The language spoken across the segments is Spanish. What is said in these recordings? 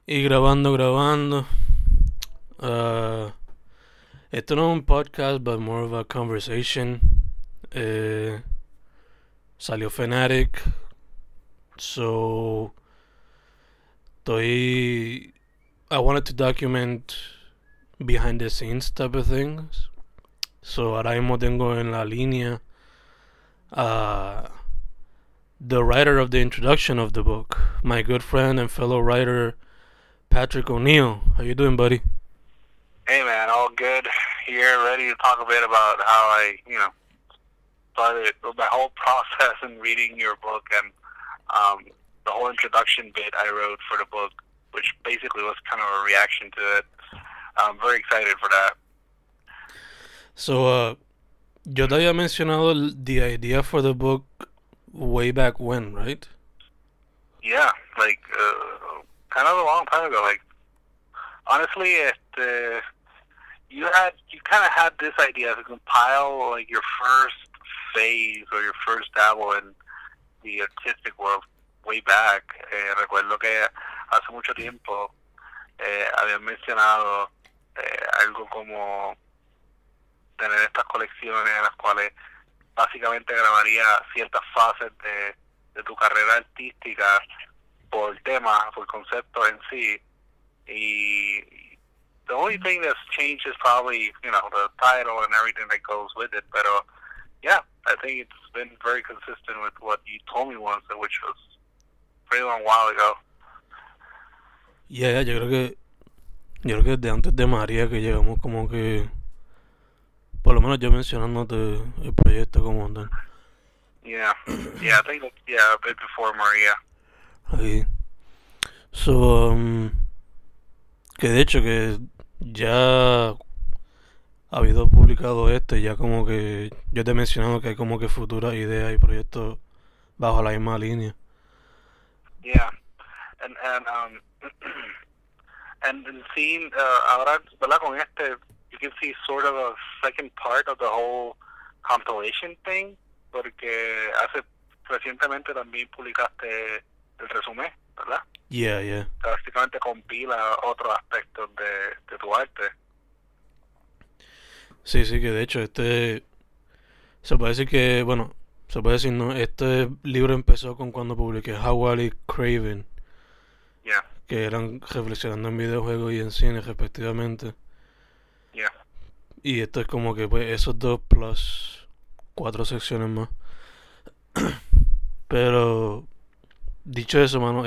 Y grabando. Uh, Esto no es un podcast, but more of a conversation. Eh, Salió Fanatic, so estoy. I wanted to document behind the scenes type of things. So ahora mismo tengo en la línea uh, the writer of the introduction of the book, my good friend and fellow writer Patrick O'Neill. How you doing, buddy? Hey man, all good here, ready to talk a bit about how started my whole process in reading your book and the whole introduction bit I wrote for the book, which basically was kind of a reaction to it. I'm very excited for that. So, yo te había mencionado the idea for the book way back when, right? Yeah, like kind of a long time ago. Like honestly, you kind of had this idea to compile like your first phase or your first dabble in the artistic world way back. Recuerdo que hace mucho tiempo habían mencionado algo como tener estas colecciones en las cuales básicamente grabaría ciertas fases de tu carrera artística por tema, por concepto en sí. Y the only thing that's changed is probably, the title and everything that goes with it. Pero yeah, I think it's been very consistent with what you told me once, which was a pretty long while ago. Yeah, yo creo que desde antes de María que llegamos como que, por lo menos yo mencionándote el proyecto como tal. Yeah, yeah, I think a bit before Maria. Ahí. So, que de hecho que ya ha habido publicado este, ya como que yo te he mencionado que hay como que futuras ideas y proyectos bajo la misma línea. Yeah, and and seeing ahora, ¿verdad? Con este, you can see sort of a second part of the whole compilation thing, porque recientemente también publicaste el resumen, ¿verdad? Yeah, yeah. Que básicamente compila otros aspectos de tu arte. Sí, sí, que de hecho se puede decir que, bueno, se puede decir, no, este libro empezó con cuando publiqué Howard y Craven, Yeah, que eran reflexionando en videojuegos y en cine respectivamente. yeah. Y esto es como que pues esos dos plus cuatro secciones más. Pero dicho eso, mano,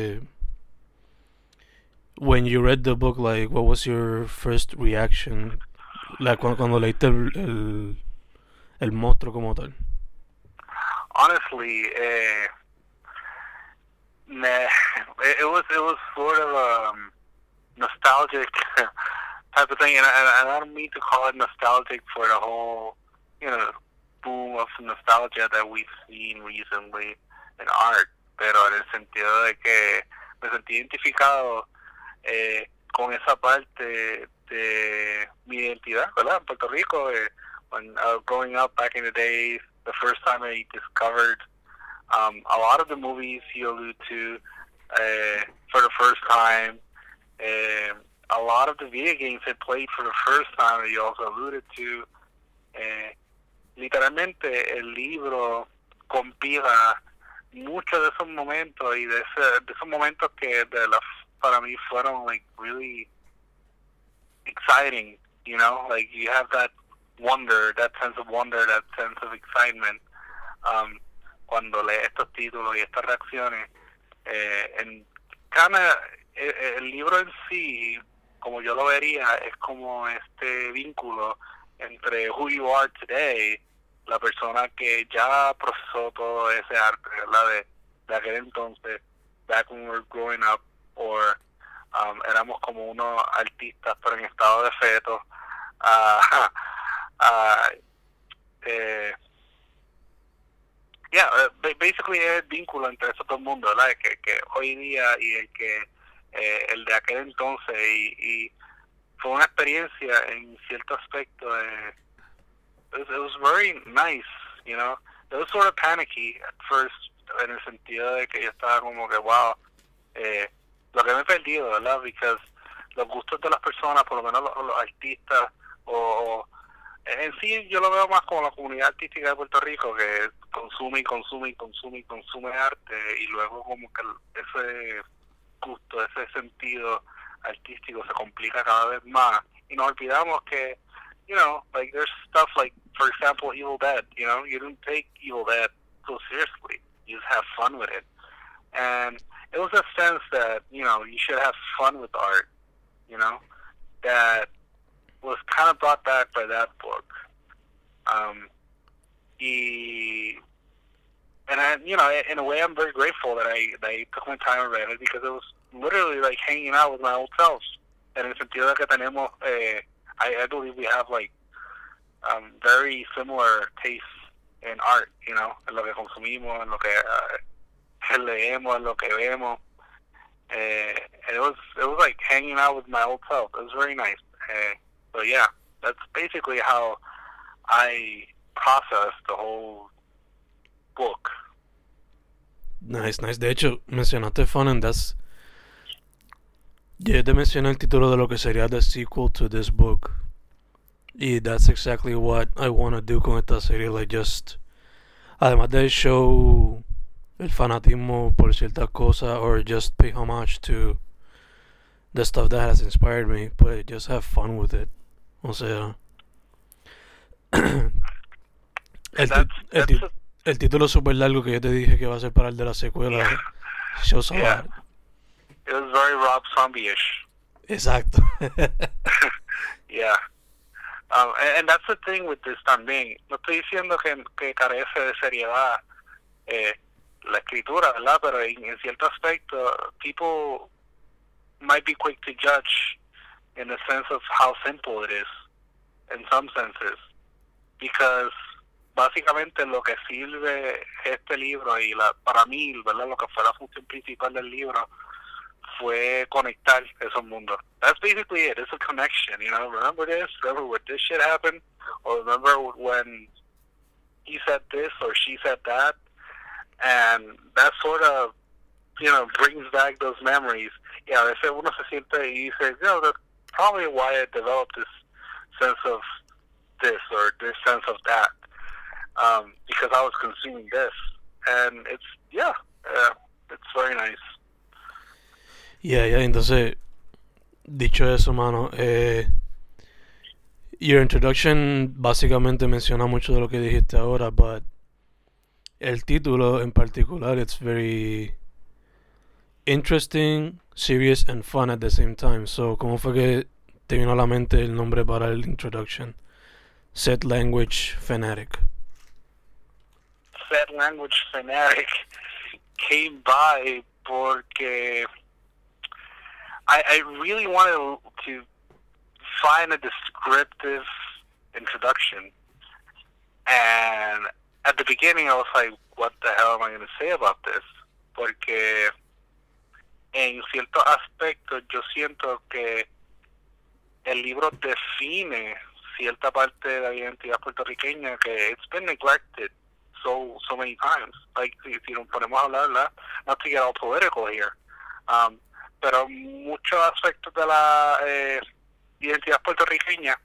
when you read the book, like, what was your first reaction? Like, cuando leíste el monstruo como tal. Honestly, nah, it was sort of nostalgic type of thing, and I don't mean to call it nostalgic for the whole, boom of nostalgia that we've seen recently in art, pero en el sentido de que me sentí identificado con esa parte de mi identidad, ¿verdad? En Puerto Rico, when I was growing up back in the days, the first time I discovered a lot of the movies you allude to for the first time. A lot of the video games I played for the first time that you also alluded to. Literalmente el libro compila muchos de esos momentos y de esos momentos que para mí fueron like really exciting, like you have that wonder, that sense of wonder, that sense of excitement cuando lees estos títulos y estas reacciones. En el libro en sí, como yo lo vería, es como este vínculo entre who you are today, la persona que ya procesó todo ese arte, ¿verdad? De aquel entonces, back when we were growing up, or éramos como unos artistas, pero en estado de feto. Uh, uh, yeah, basically es el vínculo entre esos dos mundos, ¿verdad? Que hoy día y el de aquel entonces, y fue una experiencia en cierto aspecto. It was very nice, It was sort of panicky at first, en el sentido de que yo estaba como que, wow, lo que me he perdido, ¿verdad? Because los gustos de las personas, por lo menos los artistas, o en sí yo lo veo más como la comunidad artística de Puerto Rico, que consume y consume y consume y consume arte, y luego como que ese gusto, ese sentido artístico se complica cada vez más, y nos olvidamos que, you know, like there's stuff like, for example, Evil Dead, you know, you don't take Evil Dead so seriously, you just have fun with it, and it was a sense that, you know, you should have fun with art, you know, that was kind of brought back by that book. And I, you know, in a way, I'm very grateful that I took my time and read it, because it was literally like hanging out with my old self. En el sentido de que tenemos, I believe we have like very similar tastes in art, you know, en lo que consumimos, en lo que leemos, en lo que vemos. It was like hanging out with my old self. It was very nice. So yeah, that's basically how I processed the whole book. Nice. De hecho, mencionaste fun, and that's... Ya te mencioné el título de lo que sería the sequel to this book. Y that's exactly what I want to do con esta serie. Like, just... Además de show el fanatismo por ciertas cosas, or just pay homage to the stuff that has inspired me, but just have fun with it. O sea... el título super largo que yo te dije que va a ser para el de la secuela. Yeah. Shows a Yeah. lot. It was very Rob Zombie-ish. Exacto. Yeah. And that's the thing with this también. No estoy diciendo que carece de seriedad la escritura, ¿verdad? Pero en cierto aspecto, people might be quick to judge in the sense of how simple it is, in some senses. Because básicamente lo que sirve este libro y para mí, ¿verdad? Lo que fue la función principal del libro fue conectar esos mundos. That's basically it. It's a connection, you know. Remember this? Remember when this shit happened? Or remember when he said this or she said that? And that sort of, you know, brings back those memories. Yeah, a veces uno se siente y dice, you know, that's probably why I developed this sense of this or this sense of that. Because I was consuming this. And it's, it's very nice. Yeah, entonces, dicho eso, mano, your introduction básicamente menciona mucho de lo que dijiste ahora, but el título en particular, it's very interesting, serious, and fun at the same time. So, ¿cómo fue que te vino a la mente el nombre para el introduction? Set Language Fanatic. Set Language Fanatic came by porque I really wanted to find a descriptive introduction. And at the beginning I was like, what the hell am I going to say about this? Porque en ciertos aspectos yo siento que el libro define cierta parte de la identidad puertorriqueña que it's been neglected so many times. Like, si nos ponemos a hablar, ¿verdad? Not to get all political here. Pero muchos aspectos de la identidad puertorriqueña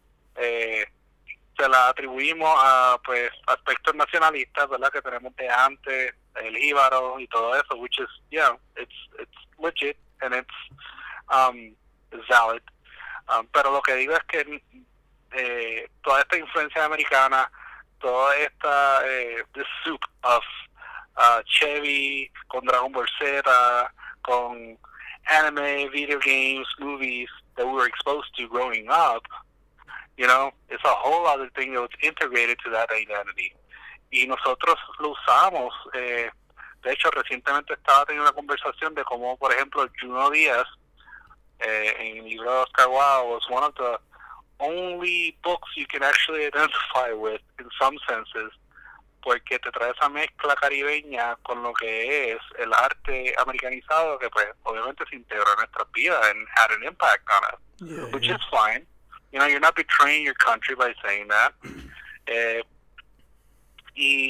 se la atribuimos a pues aspectos nacionalistas, ¿verdad? Que tenemos de antes, el jíbaro y todo eso, which is, yeah, it's legit and it's valid. Pero lo que digo es que toda esta influencia americana, toda esta this soup of Chevy con Dragon Ball Z, con anime, video games, movies that we were exposed to growing up, you know, it's a whole other thing that was integrated to that identity. Y nosotros lo usamos. De hecho, recientemente estaba teniendo una conversación de cómo, por ejemplo, Junot Díaz, en el libro de Oscar Wilde, was one of the only books you can actually identify with in some senses, porque te trae esa mezcla caribeña con lo que es el arte americanizado que pues obviamente se integró en nuestras vidas and had an impact on us, which is fine. You know, you're not betraying your country by saying that. Y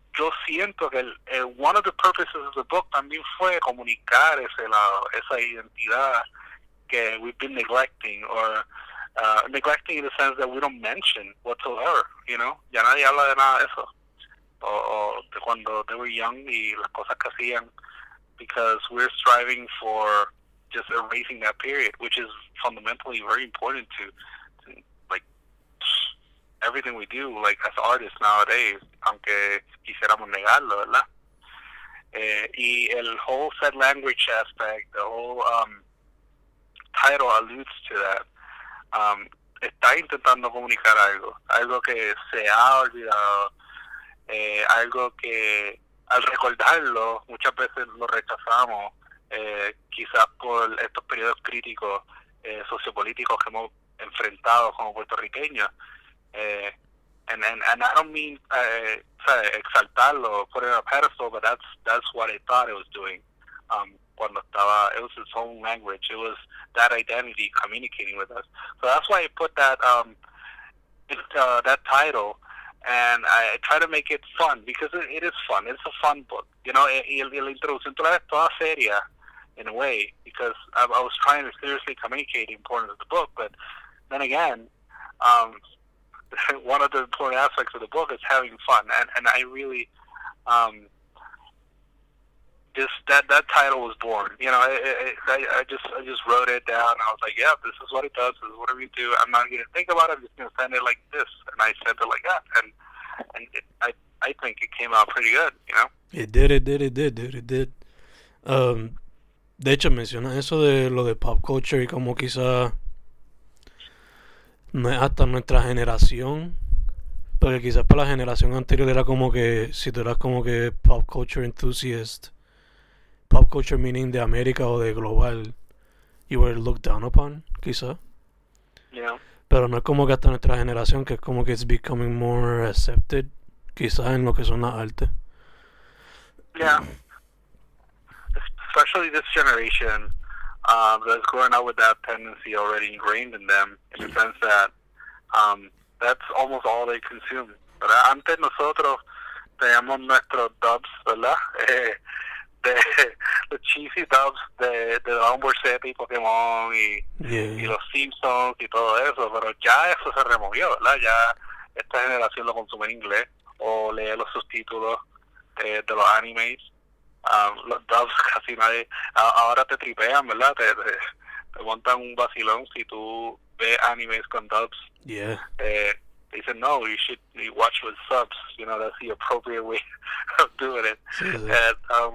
yo siento que one of the purposes of the book también fue comunicar ese lado, esa identidad que we've been neglecting, or neglecting in the sense that we don't mention whatsoever, you know. Ya nadie habla de nada de eso, o de cuando they were young y las cosas que hacían, because we're striving for just erasing that period, which is fundamentally very important to like everything we do, like as artists nowadays, aunque quisiéramos negarlo, ¿verdad? Y el whole set language aspect, the whole title alludes to that. Está intentando comunicar algo que se ha olvidado, algo que al recordarlo muchas veces lo rechazamos, quizás por estos periodos críticos sociopolíticos que hemos enfrentado como puertorriqueños. And I don't mean exaltarlo, put it on a pedestal, but that's what I thought it was doing. Cuando estaba, it was its own language. It was that identity communicating with us. So that's why I put that that title, and I try to make it fun, because it is fun. It's a fun book, you know. Y la introducción toda seria in a way, because I was trying to seriously communicate the importance of the book, but then again, one of the important aspects of the book is having fun, and I really just that title was born. You know, I just wrote it down. I was like, yeah, this is what it does. This is what we do. I'm not going to think about it. I'm just going to send it like this, and I sent it like that, and I think it came out pretty good. You know, it did. De hecho, menciona eso de lo de pop culture y como quizá no es hasta nuestra generación, porque quizás para la generación anterior era como que si tú eras como que pop culture enthusiast, pop culture meaning de América o de global, you were looked down upon, quizás. Yeah. Pero no es como que hasta nuestra generación, que es como que it's becoming more accepted, quizás en lo que son las artes. Yeah. Especially this generation that's growing up with that tendency already ingrained in them, in the sense that that's almost all they consume. Pero antes nosotros teníamos nuestros dubs, ¿verdad? De los cheesy dubs de Dragon Ball Z y Pokémon y los Simpsons y todo eso, pero ya eso se removió, ¿verdad? Ya esta generación lo consume en inglés o lee los subtítulos de los animes. Los dubs casi nadie ahora te tripean, ¿verdad? Te montan un vacilón si tú ves animes con dubs. Yeah. They said no, you should watch with subs, you know, that's the appropriate way of doing it. Sí.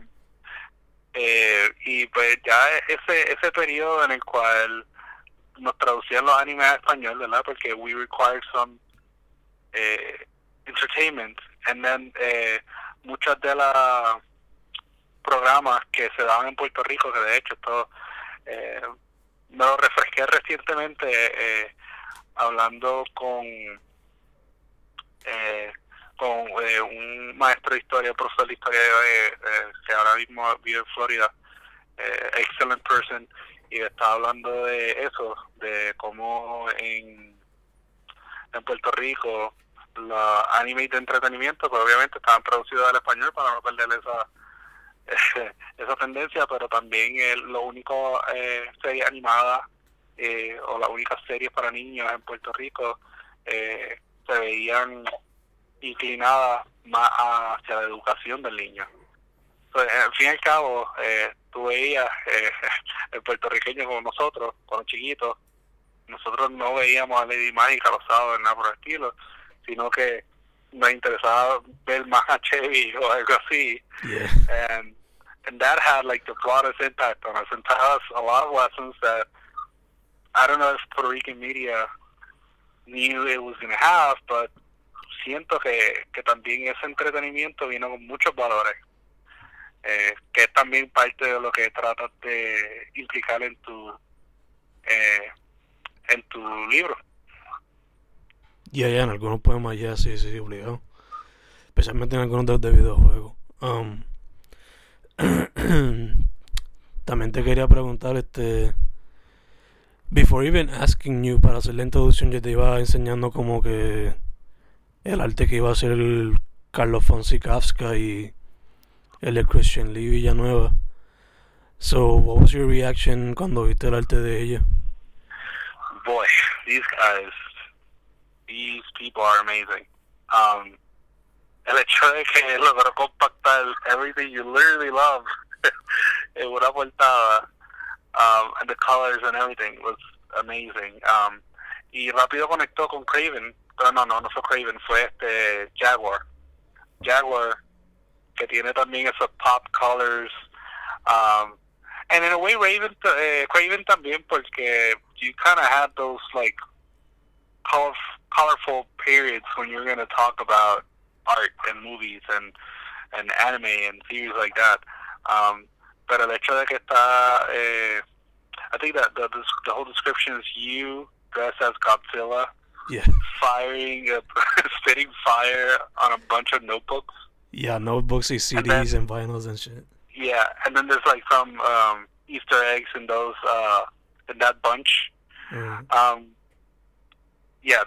Y pues ya ese periodo en el cual nos traducían los animes a español, ¿verdad? Porque we required some entertainment, and then muchas de las programas que se daban en Puerto Rico, que de hecho esto me lo refresqué recientemente hablando con un maestro de historia, profesor de historia que ahora mismo vive en Florida, excellent person, y estaba hablando de eso, de cómo en Puerto Rico los animes de entretenimiento pues obviamente estaban traducidos al español para no perder esa tendencia, pero también lo único serie animada o las únicas series para niños en Puerto Rico se veían inclinadas más hacia la educación del niño. Entonces, al fin y al cabo, tú veías el puertorriqueño como nosotros, cuando chiquitos, nosotros no veíamos a Lady Mágica los sábados, nada por el estilo, sino que nos interesaba ver más a Chevy o algo así. Yeah. And that had like the broadest impact on us and taught us a lot of lessons that I don't know if Puerto Rican media knew it was going to have, but siento que también ese entretenimiento vino con muchos valores, que es también parte de lo que tratas de implicar en tu libro. Ya, en algunos poemas ya sí, obligado. Especialmente en algunos de videojuegos. También te quería preguntar, before even asking you, para hacer la introducción, yo te iba enseñando como que el arte que iba a ser Carlos Fonsi Kafka y el de Christian Lee Villanueva. So, what was your reaction cuando viste el arte de ella? Boy, these people are amazing. El hecho de que logró compactar everything you literally love en una portada, and the colors and everything was amazing. Y rápido conectó con Craven. No fue Craven, fue Jaguar, que tiene también esos pop colors. And in a way, Craven también, porque you kind of had those like colorful periods when you're going to talk about art and movies and anime and series like that. Pero el hecho de que está, I think that the whole description is you dressed as Godzilla, Yeah. firing, spitting fire on a bunch of notebooks. Yeah, notebooks y CDs and vinyls and shit. Yeah, and then there's like some Easter eggs in those in that bunch. Yeah,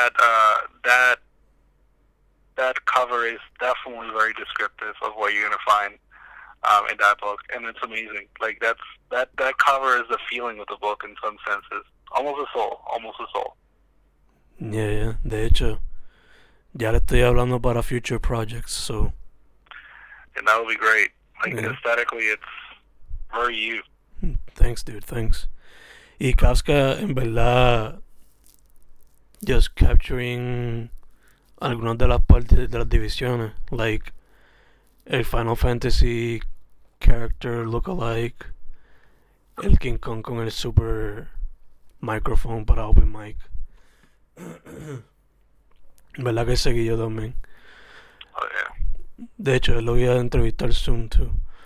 that cover is definitely very descriptive of what you're gonna find in that book, and it's amazing. Like that cover is the feeling of the book in some senses, almost a soul. Yeah. De hecho, ya le estoy hablando para future projects, so. And that would be great. Like aesthetically, it's very you. Thanks, dude. Thanks. Y Kafka, en verdad, just capturing algunas de las partes de las divisiones, like el Final Fantasy character look-alike, el King Kong con el super microphone para open mic. ¿Verdad que seguí yo también? Oh yeah. De hecho, lo voy a entrevistar soon too.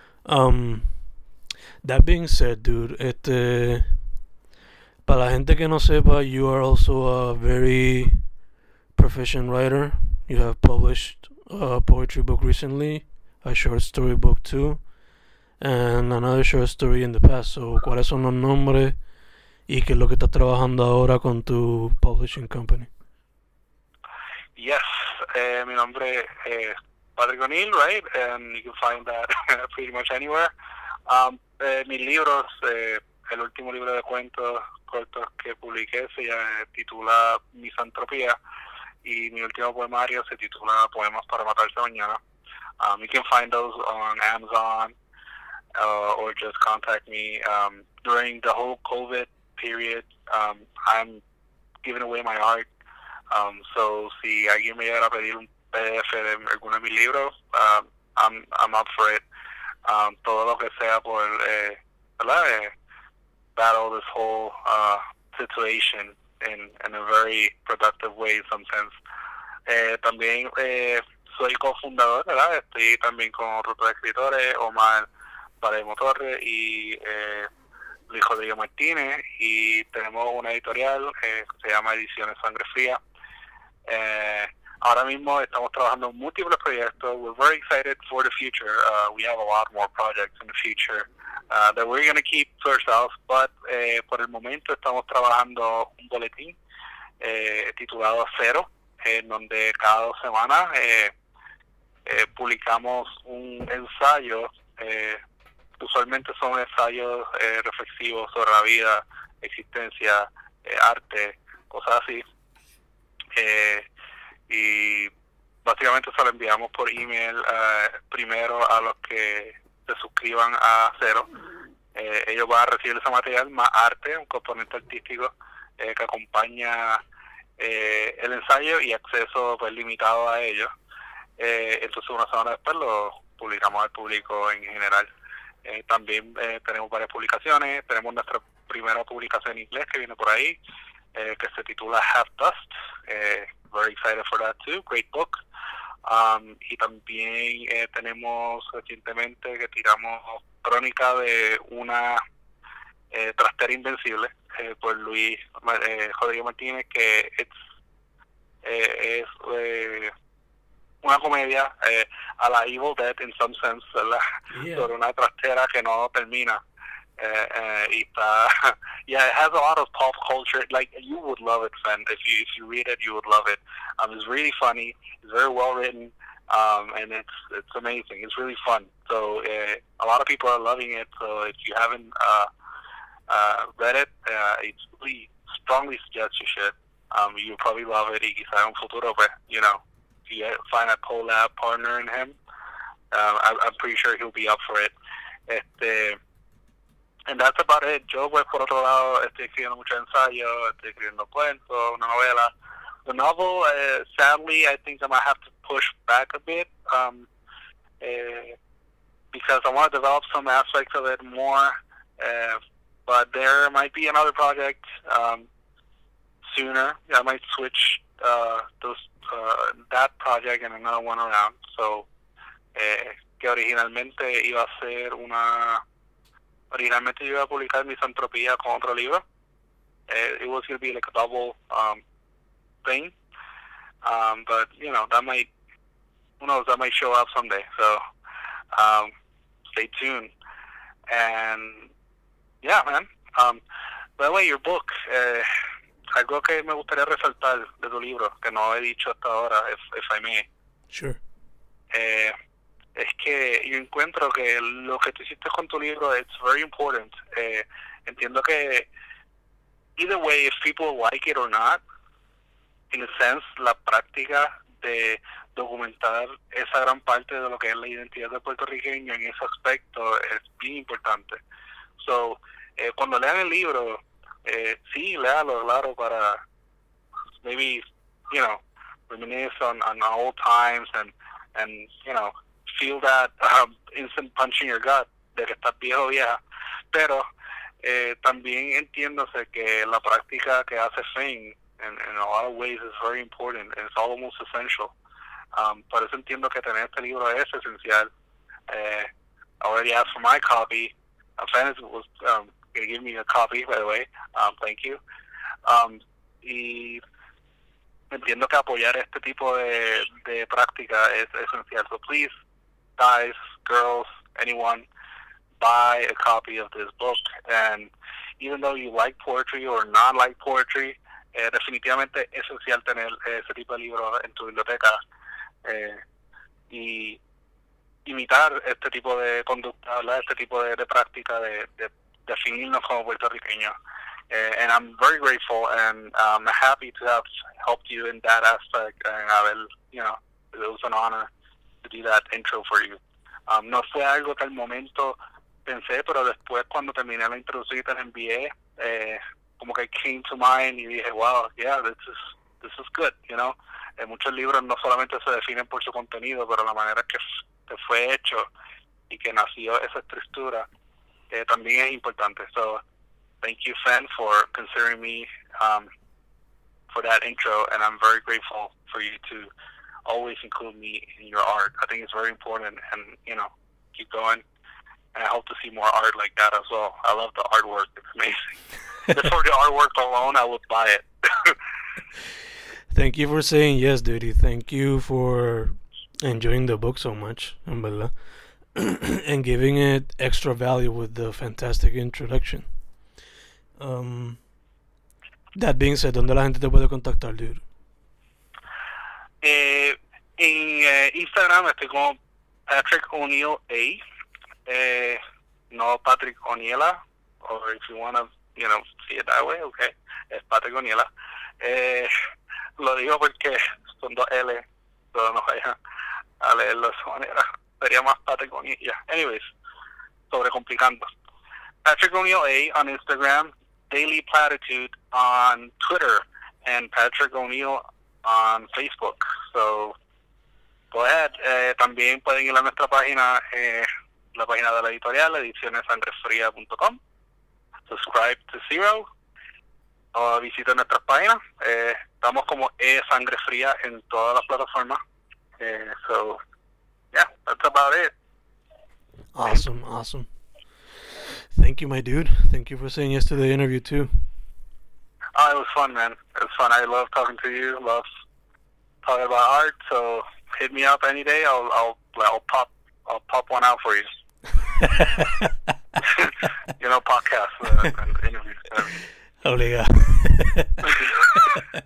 That being said, dude, para la gente que no sepa, you are also a very proficient writer. You have published a poetry book recently, a short story book too, and another short story in the past. So, ¿cuáles son los nombres y qué es lo que estás trabajando ahora con tu publishing company? Yes, mi nombre es Patrick O'Neill, right? And you can find that pretty much anywhere. Mis libros, el último libro de cuentos cortos que publiqué se titula Misantropía, y mi último poemario se titula Poemas para matarse mañana. You can find those on Amazon, or just contact me. During the whole COVID period, I'm giving away my art. So si alguien me llega a pedir un PDF de alguno de mis libros, I'm up for it. Todo lo que sea por battle this whole situation in a very productive way in some sense. También soy cofundador, ¿verdad? Estoy también con otros dos escritores, Omar Palermo Torres y Luis Rodrigo Martínez, y tenemos una editorial que se llama Ediciones Sangre Fría. Ahora mismo estamos trabajando en múltiples proyectos. We're very excited for the future. We have a lot more projects in the future that we're going to keep to ourselves, but por el momento estamos trabajando un boletín titulado Cero, en donde cada 2 semanas publicamos un ensayo. Usualmente son ensayos reflexivos sobre la vida, existencia, arte, cosas así. Y básicamente se lo enviamos por email primero a los que se suscriban a Cero. Ellos van a recibir ese material más arte, un componente artístico que acompaña el ensayo, y acceso pues limitado a ellos. Entonces 1 semana después lo publicamos al público en general. También tenemos varias publicaciones. Tenemos nuestra primera publicación en inglés que viene por ahí, que se titula Half Dust. Very excited for that too. Great book. Y también tenemos recientemente que tiramos Crónica de una trastera invencible por Luis Rodrigo Martínez, que es una comedia a la Evil Dead in some sense, ¿verdad? Yeah. Sobre una trastera que no termina. Y está, yeah, it has a lot of pop culture. Like, you would love it, Sven. If you read it, you would love it. It's really funny. It's very well written. and it's amazing. It's really fun. So a lot of people are loving it. So if you haven't read it, it's really strongly suggest you should. You'll probably love it. Y quizá en un futuro, pues, you know, if you find a collab partner in him, I'm pretty sure he'll be up for it. And that's about it. Yo, pues, por otro lado, estoy escribiendo muchos ensayos, estoy escribiendo cuentos, una novela. The novel, sadly, I think I might have to push back a bit because I want to develop some aspects of it more. But there might be another project sooner. I might switch that project and another one around. So, que originalmente iba a ser originalmente yo iba a publicar Misantropía con otro libro. It was going to be like a double thing. But, you know, that might, who knows, that might show up someday. So, stay tuned. And, yeah, man. By the way, your book, algo que me gustaría resaltar de tu libro, que no he dicho hasta ahora, if I may. Sure. Es que yo encuentro que lo que tú hiciste con tu libro, it's very important. Entiendo que, either way, if people like it or not, in a sense, la práctica de documentar esa gran parte de lo que es la identidad del puertorriqueño en ese aspecto es bien importante. So, cuando lean el libro, sí, léalo, claro, para maybe, you know, reminisce on old times and you know, feel that instant punch in your gut de que estás viejo o vieja. Pero también entiéndose que la práctica que hace Finn in a lot of ways is very important and it's almost essential. Por eso entiendo que tener este libro es esencial. I already asked for my copy. Finn was going to give me a copy, by the way. Thank you. Y entiendo que apoyar este tipo de práctica es esencial. So please, guys, girls, anyone, buy a copy of this book. And even though you like poetry or not like poetry, definitivamente es esencial tener ese tipo de libros en tu biblioteca y imitar este tipo de conducta, ¿verdad? Este tipo de práctica de definirnos como puertorriqueños. And I'm very grateful and I'm happy to have helped you in that aspect. And you know, it was an honor to do that intro for you. No fue algo que al momento pensé, pero después cuando terminé la introducción y te la envié, como que came to mind y dije, wow, yeah, this is good, you know. Muchos libros no solamente se definen por su contenido, pero la manera que fue hecho y que nació esa estructura también es importante. So, thank you, Fen, for considering me for that intro, and I'm very grateful for you to always include me in your art. I think it's very important, and, you know, keep going. And I hope to see more art like that as well. I love the artwork. It's amazing. Just for the artwork alone, I would buy it. Thank you for saying yes, dude. Thank you for enjoying the book so much, en verdad. And giving it extra value with the fantastic introduction. That being said, ¿dónde la gente te puede contactar, dude? En Instagram estoy como Patrick O'Neill A. No Patrick O'Neilla, or if you want to, you know, see it that way, okay. Es Patrick O'Neilla. Lo digo porque son dos L, pero no vayan a leerlo de esa manera. Sería más Patrick O'Neill. Yeah. Anyways, sobrecomplicando. Patrick O'Neill A on Instagram, Daily Platitude on Twitter, and Patrick O'Neill on Facebook. So, go ahead. También pueden ir a nuestra página, la página de la editorial, edicionessangrefria.com. Subscribe to Zero. O visiten nuestras páginas. Estamos como Sangre Fría en todas las plataformas. So, yeah, that's about it. Awesome. Thank you, my dude. Thank you for saying yes to the interview too. Oh, it was fun, man. It was fun. I love talking to you. Love talking about art. So hit me up any day. I'll pop one out for you. You know, podcasts and interviews. Obligado.